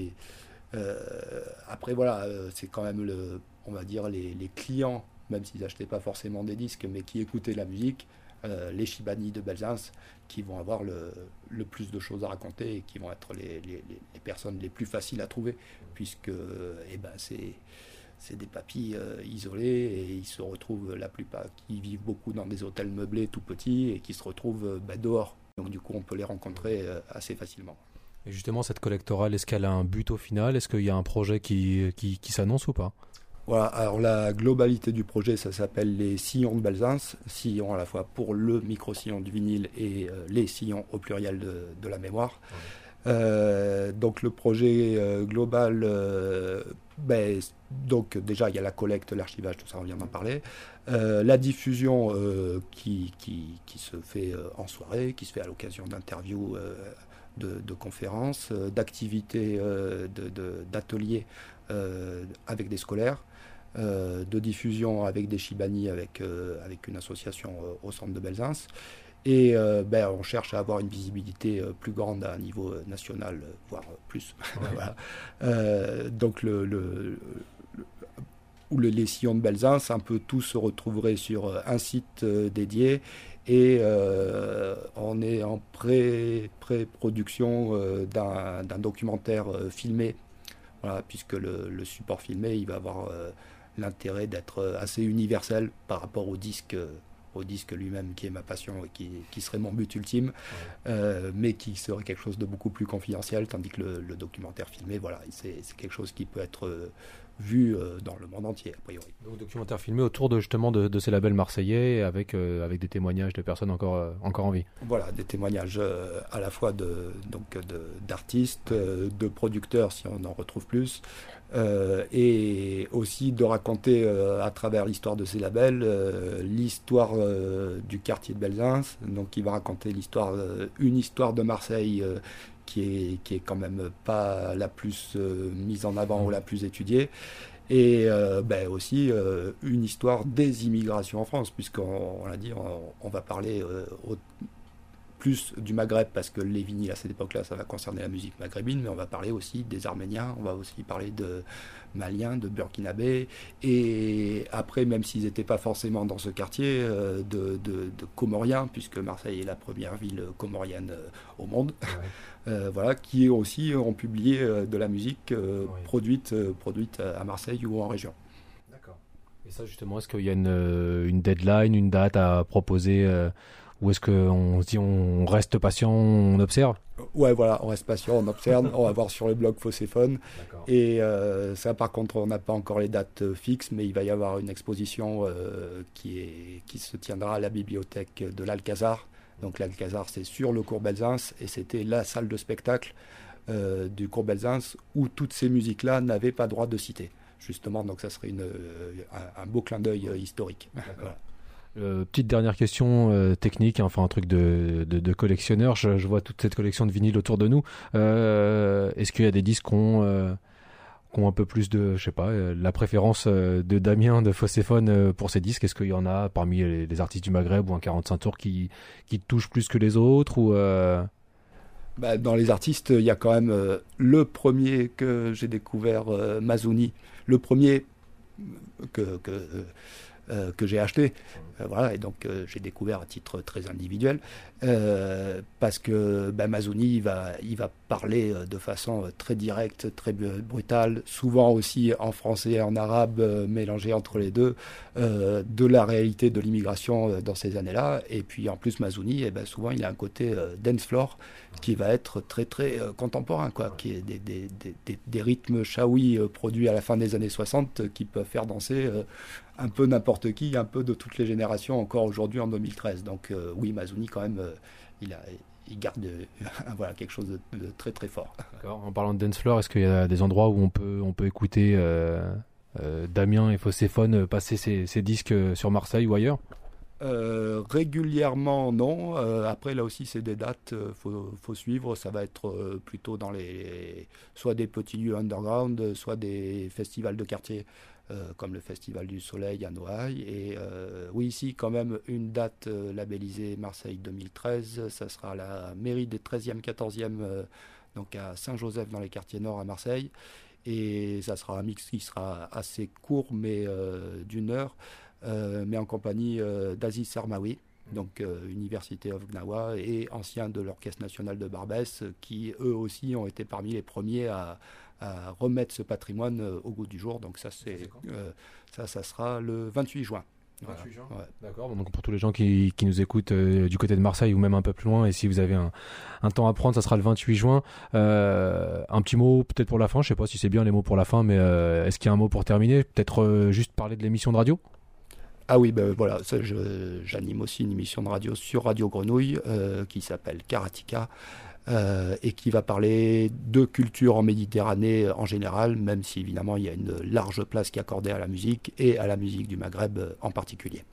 après voilà, c'est quand même on va dire les clients, même s'ils n'achetaient pas forcément des disques, mais qui écoutaient la musique, les Chibani de Belzins, qui vont avoir le plus de choses à raconter et qui vont être les personnes les plus faciles à trouver, puisque c'est des papis isolés, et ils se retrouvent, la plupart, qui vivent beaucoup dans des hôtels meublés tout petits et qui se retrouvent dehors. Donc du coup, on peut les rencontrer assez facilement. Et justement, cette collectorale, est-ce qu'elle a un but au final? Est-ce qu'il y a un projet qui s'annonce ou pas? Voilà, alors la globalité du projet, ça s'appelle les sillons de Belzins, sillons à la fois pour le micro-sillon du vinyle et les sillons au pluriel de la mémoire. Donc le projet global, donc déjà il y a la collecte, l'archivage, tout ça, on vient d'en parler. La diffusion qui se fait en soirée, qui se fait à l'occasion d'interviews, de conférences, d'activités, d'ateliers avec des scolaires, de diffusion avec des Chibani, avec une association au centre de Belzins. Et on cherche à avoir une visibilité plus grande à un niveau national, voire plus. Voilà. Donc les sillons de Belzins, un peu tout se retrouverait sur un site dédié, et on est en pré-production d'un documentaire filmé, voilà, puisque le support filmé, il va avoir l'intérêt d'être assez universel par rapport au disque lui-même, qui est ma passion et qui serait mon but ultime, mais qui serait quelque chose de beaucoup plus confidentiel, tandis que le documentaire filmé, voilà, c'est quelque chose qui peut être vu dans le monde entier, a priori. Donc documentaire filmé autour justement de ces labels marseillais, avec des témoignages de personnes encore en vie. Voilà, des témoignages à la fois d'artistes, de producteurs, si on en retrouve plus, et aussi de raconter à travers l'histoire de ces labels l'histoire du quartier de Belzins, donc qui va raconter une histoire de Marseille qui est quand même pas la plus mise en avant ou la plus étudiée, et aussi une histoire des immigrations en France, puisqu'on l'a dit, on va parler plus du Maghreb, parce que les vinyles à cette époque-là, ça va concerner la musique maghrébine, mais on va parler aussi des Arméniens, on va aussi parler de Maliens, de Burkinabés, et après, même s'ils n'étaient pas forcément dans ce quartier, de Comoriens, puisque Marseille est la première ville comorienne au monde, voilà, qui aussi ont publié de la musique produite à Marseille ou en région. D'accord. Et ça, justement, est-ce qu'il y a une deadline, une date à proposer, ou est-ce qu'on se dit on reste patient, on observe? Ouais, voilà, on reste patient, on observe, on va voir sur le blog Fosséphone. Et ça, par contre, on n'a pas encore les dates fixes, mais il va y avoir une exposition qui se tiendra à la bibliothèque de l'Alcazar. Donc l'Alcazar, c'est sur le cours Belzins, et c'était la salle de spectacle du cours Belzins où toutes ces musiques-là n'avaient pas droit de citer. Justement, donc ça serait un beau clin d'œil historique. Voilà. Petite dernière question technique, enfin un truc de collectionneur. Je vois toute cette collection de vinyles autour de nous. Est-ce qu'il y a des disques qui ont un peu plus de, je sais pas, la préférence de Damien de Fosséphone pour ces disques? Est-ce qu'il y en a parmi les artistes du Maghreb ou un 45 tours qui te touchent plus que les autres, ou Dans les artistes, il y a quand même le premier que j'ai découvert, Mazouni, le premier que j'ai acheté, voilà, et donc j'ai découvert à titre très individuel, parce que Mazouni il va parler de façon très directe, très brutale, souvent aussi en français et en arabe, mélangé entre les deux, de la réalité de l'immigration dans ces années-là. Et puis en plus, Mazouni, souvent il a un côté dance floor qui va être très très contemporain, quoi, qui est des rythmes chaoui produits à la fin des années 60 qui peuvent faire danser un peu n'importe qui, un peu de toutes les générations encore aujourd'hui en 2013. Donc oui, Mazouni quand même, il garde voilà, quelque chose de très très fort. D'accord. En parlant de dance floor, est-ce qu'il y a des endroits où on peut écouter Damien et Phocéphone passer ces disques sur Marseille ou ailleurs? Régulièrement, non. Après, là aussi, c'est des dates, faut suivre. Ça va être plutôt dans soit des petits lieux underground, soit des festivals de quartier, comme le Festival du Soleil à Noailles. Et oui, ici, quand même, une date labellisée Marseille 2013. Ça sera à la mairie des 13e, 14e, donc à Saint-Joseph, dans les quartiers nord à Marseille. Et ça sera un mix qui sera assez court, mais d'une heure. Mais en compagnie d'Aziz Sarmaoui, donc Université of Gnawa, et ancien de l'Orchestre National de Barbès, qui eux aussi ont été parmi les premiers à remettre ce patrimoine au goût du jour. Donc ça, ça sera le 28 juin. 28 juin. Ouais. D'accord, donc pour tous les gens qui nous écoutent du côté de Marseille ou même un peu plus loin, et si vous avez un temps à prendre, ça sera le 28 juin. Un petit mot peut-être pour la fin, je sais pas si c'est bien les mots pour la fin, mais est-ce qu'il y a un mot pour terminer? Peut-être juste parler de l'émission de radio? Ah oui, ben voilà, j'anime aussi une émission de radio sur Radio Grenouille qui s'appelle Karatika et qui va parler de culture en Méditerranée en général, même si évidemment il y a une large place qui est accordée à la musique et à la musique du Maghreb en particulier.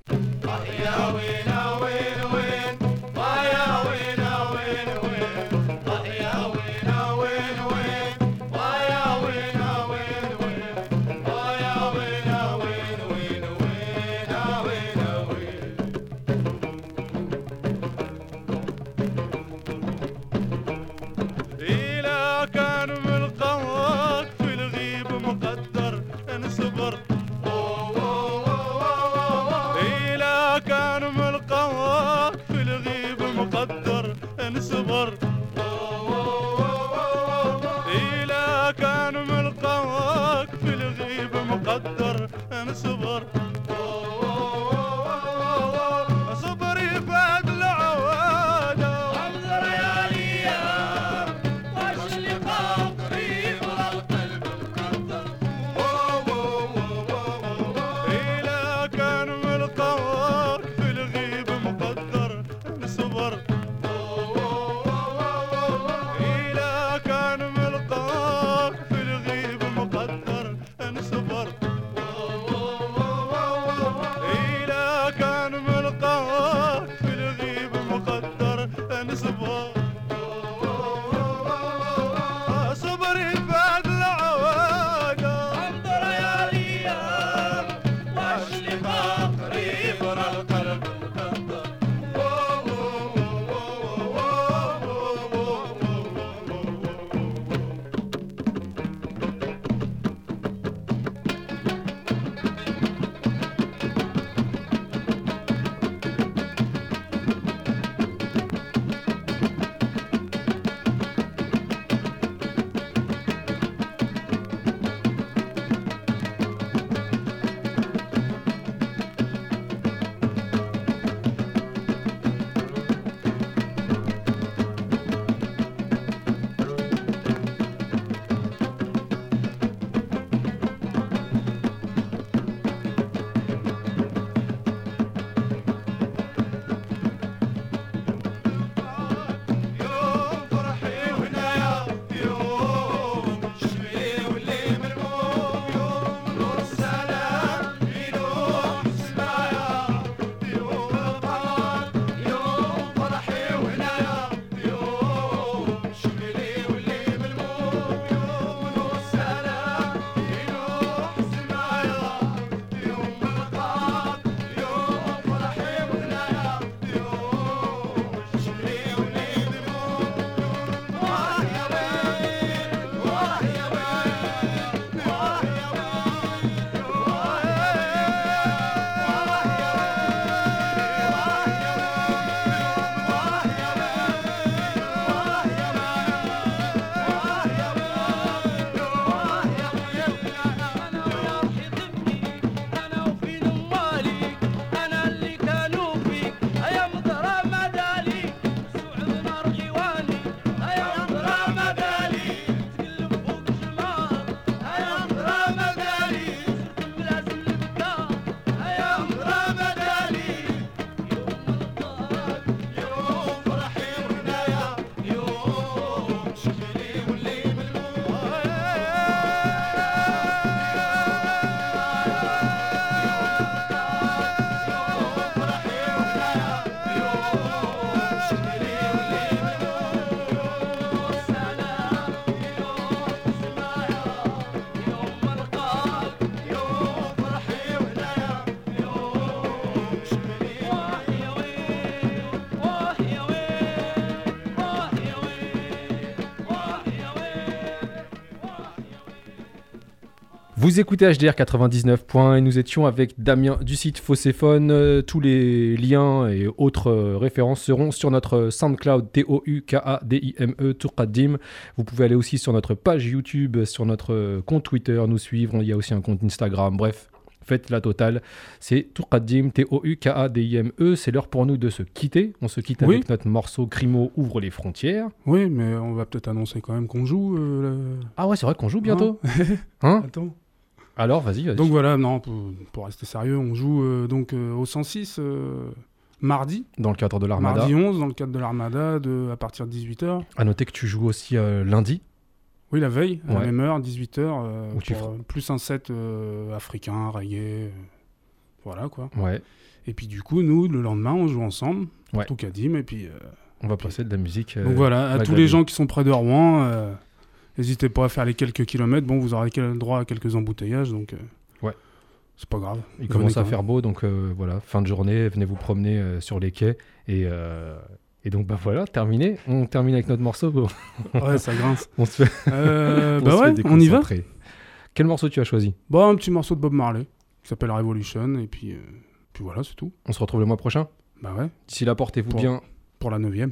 Vous écoutez HDR 99 et nous étions avec Damien du site Fosséphone. Tous les liens et autres références seront sur notre SoundCloud TOUKADIME Tourqadim. Vous pouvez aller aussi sur notre page YouTube, sur notre compte Twitter, nous suivre. Il y a aussi un compte Instagram. Bref, faites la totale. C'est Tourqadim, TOUKADIME. C'est l'heure pour nous de se quitter. On se quitte avec notre morceau Crimo ouvre les frontières. Oui, mais on va peut-être annoncer quand même qu'on joue. Ah ouais, c'est vrai qu'on joue bientôt. Hein Attends. Alors, vas-y. Donc voilà, non, pour rester sérieux, on joue au 106 mardi. Dans le cadre de l'Armada. Mardi 11, dans le cadre de l'Armada, à partir de 18h. À noter que tu joues aussi lundi. Oui, la veille, à la même heure, 18h, plus un set africain, reggae, voilà quoi. Ouais. Et puis du coup, nous, le lendemain, on joue ensemble, tout Kadim, et puis... on va passer de la musique... donc voilà, à tous les gens qui sont près de Rouen... n'hésitez pas à faire les quelques kilomètres. Bon, vous aurez droit à quelques embouteillages, donc c'est pas grave. Il commence à faire beau, donc voilà, fin de journée, venez vous promener sur les quais. Et donc, voilà, terminé. On termine avec notre morceau. Ouais, ça grince. On se fait... on y va. Quel morceau tu as choisi? Un petit morceau de Bob Marley, qui s'appelle Revolution, et puis voilà, c'est tout. On se retrouve le mois prochain? Bah ouais. D'ici là, portez-vous bien. Pour la 9e.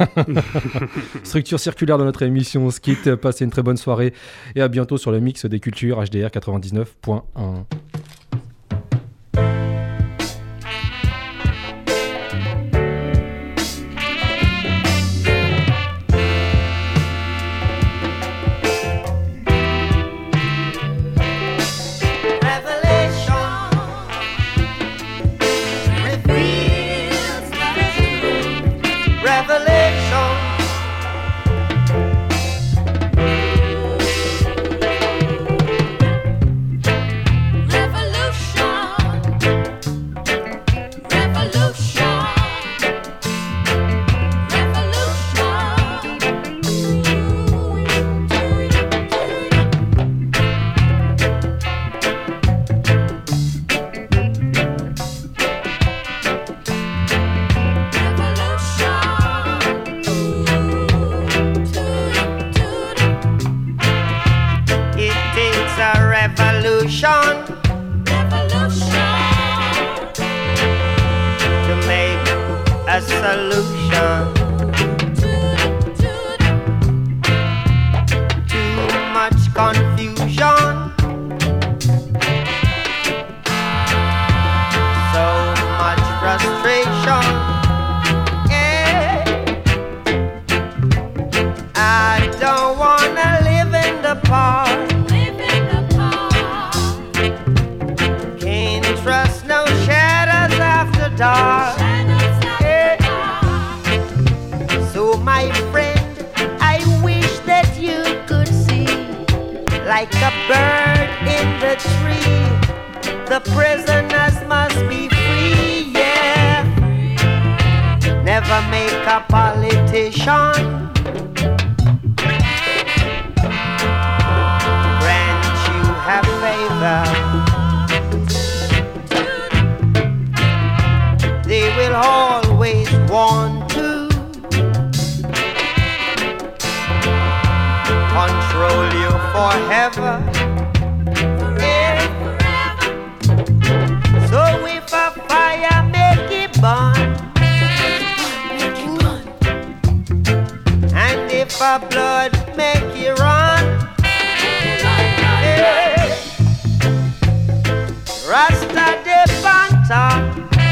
Structure circulaire de notre émission. On se quitte, passez une très bonne soirée et à bientôt sur le mix des cultures HDR 99.1.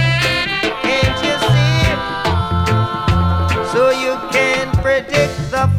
So you can predict the